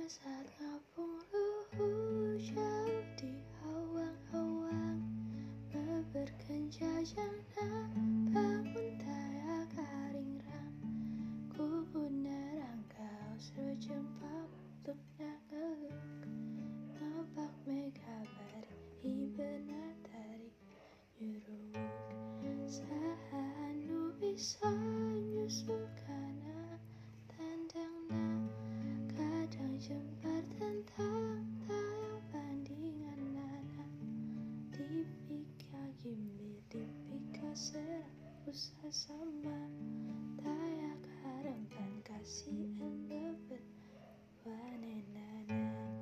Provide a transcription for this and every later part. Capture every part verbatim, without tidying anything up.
saat ngapung luhur jauh di awang-awang, berkenjajang bangun taya karing ram, kuku nerang kau sejempa bentuknya ngeluk, nampak mega bari benar tarik nyuruk, sanu bisa nyusul kana tandangna, kadang jembar tentang tayang bandingan nana, dipika gimbi dipika serang usah sama, tayak harapan kasih en bebet wanenana,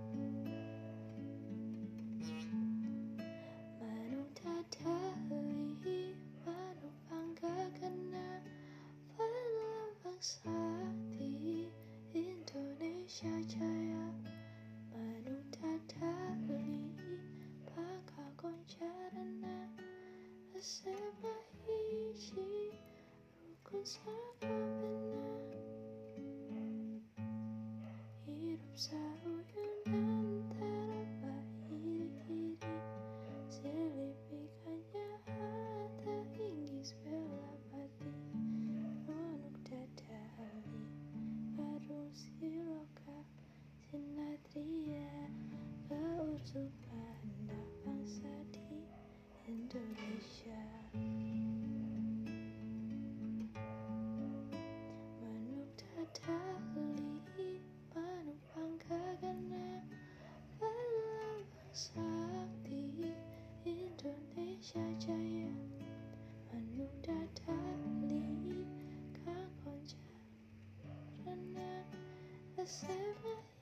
manung tadali manung bangga kena pelambang sakti Indonesia Jaya, manung tadali bangga koncarana asema hiji rukun sakamena, hidup sauyun antara bahiri-hiri, selipikannya ada inggis bela pati, nonuk dadali karung siloka sinatria, keursupan bangsa di Indonesia. Manuk dadali manuk bangga kena pelambang sakti Indonesia Jaya, manuk dadali kang koncarana asema